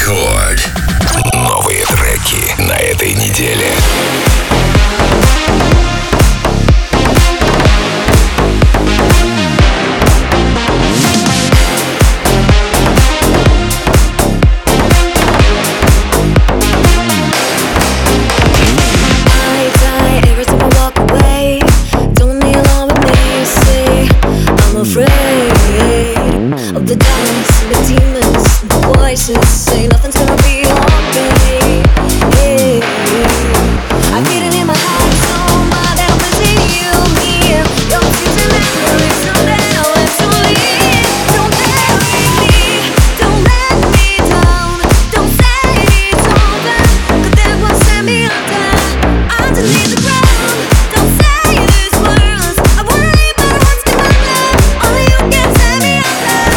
Рекорд. Новые треки на этой неделе. Say nothing's gonna be okay. Yeah. I feel it in my heart, so my that I'm missing you here. Your future memories are now and to leave. Don't bury me, don't let me down. Don't say it's over, 'cause that will set me underneath the ground. Don't say these words, I worry about what's gonna happen. Only you can set me under.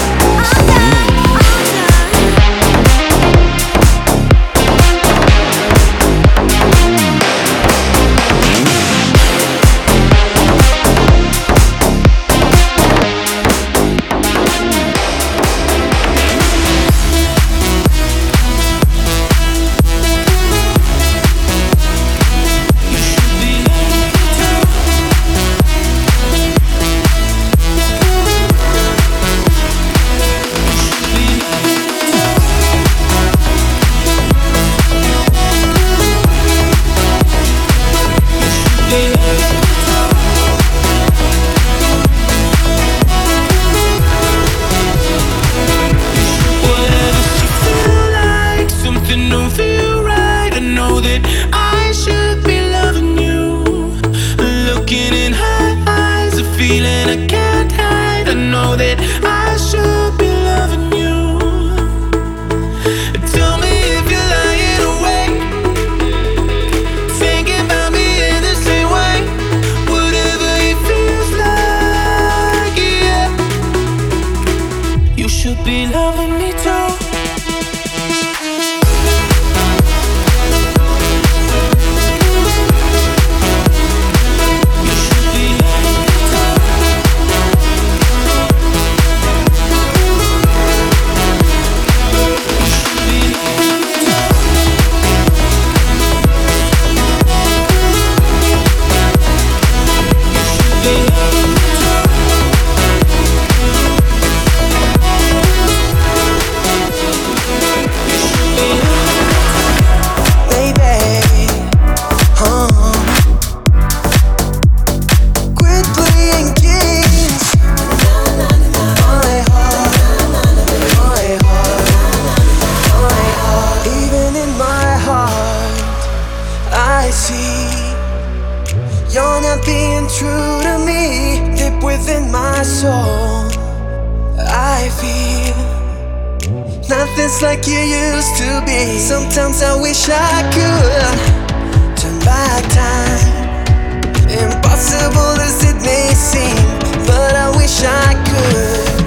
Like you used to be. Sometimes I wish I could turn back time. Impossible as it may seem, but I wish I could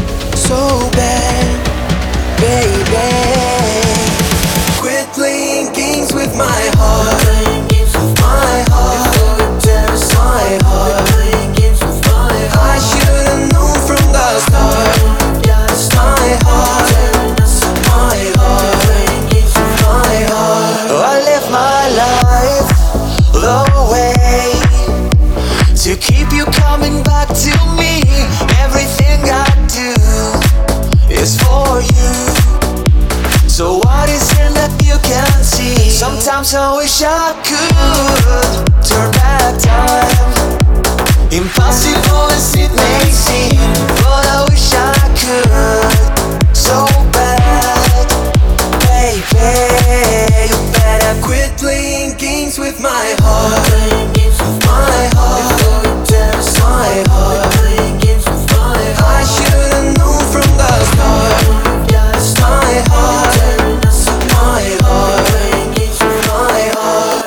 so bad, baby. Quit playing games with my heart. My heart, my heart. I should've known from the start. My heart. I live my life the way to keep you coming back to me. Everything I do is for you. So what is it that you can't see? Sometimes I wish I could turn back time. Impossible as it may seem, but I wish I could so bad, baby. You better quit playing games with my heart. My heart, my heart. I should've known from the start. My heart, my heart, my heart.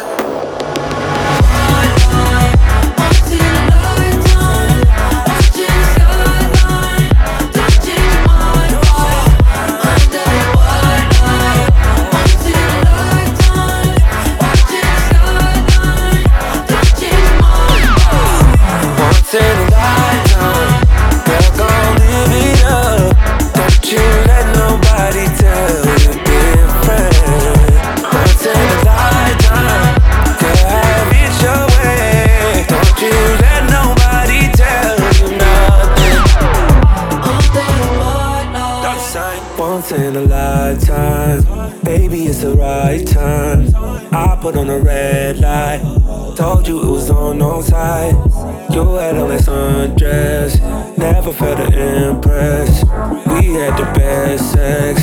once in a lifetime. Baby, it's the right time. I put on a red light. Told you it was on side. You had on that sundress. Never felt to impress. We had the best sex.